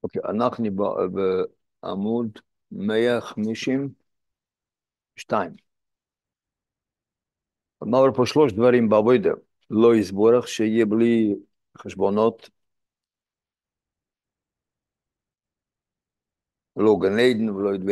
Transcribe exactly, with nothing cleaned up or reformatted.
אוקיי, אנחנו ב- בעמוד מאה וחמישים ושתיים. אמרנו פה שלוש דברים בעבודה. לא יסבורך, שיהיה בלי חשבונות, לא גן עדן ולא ידבר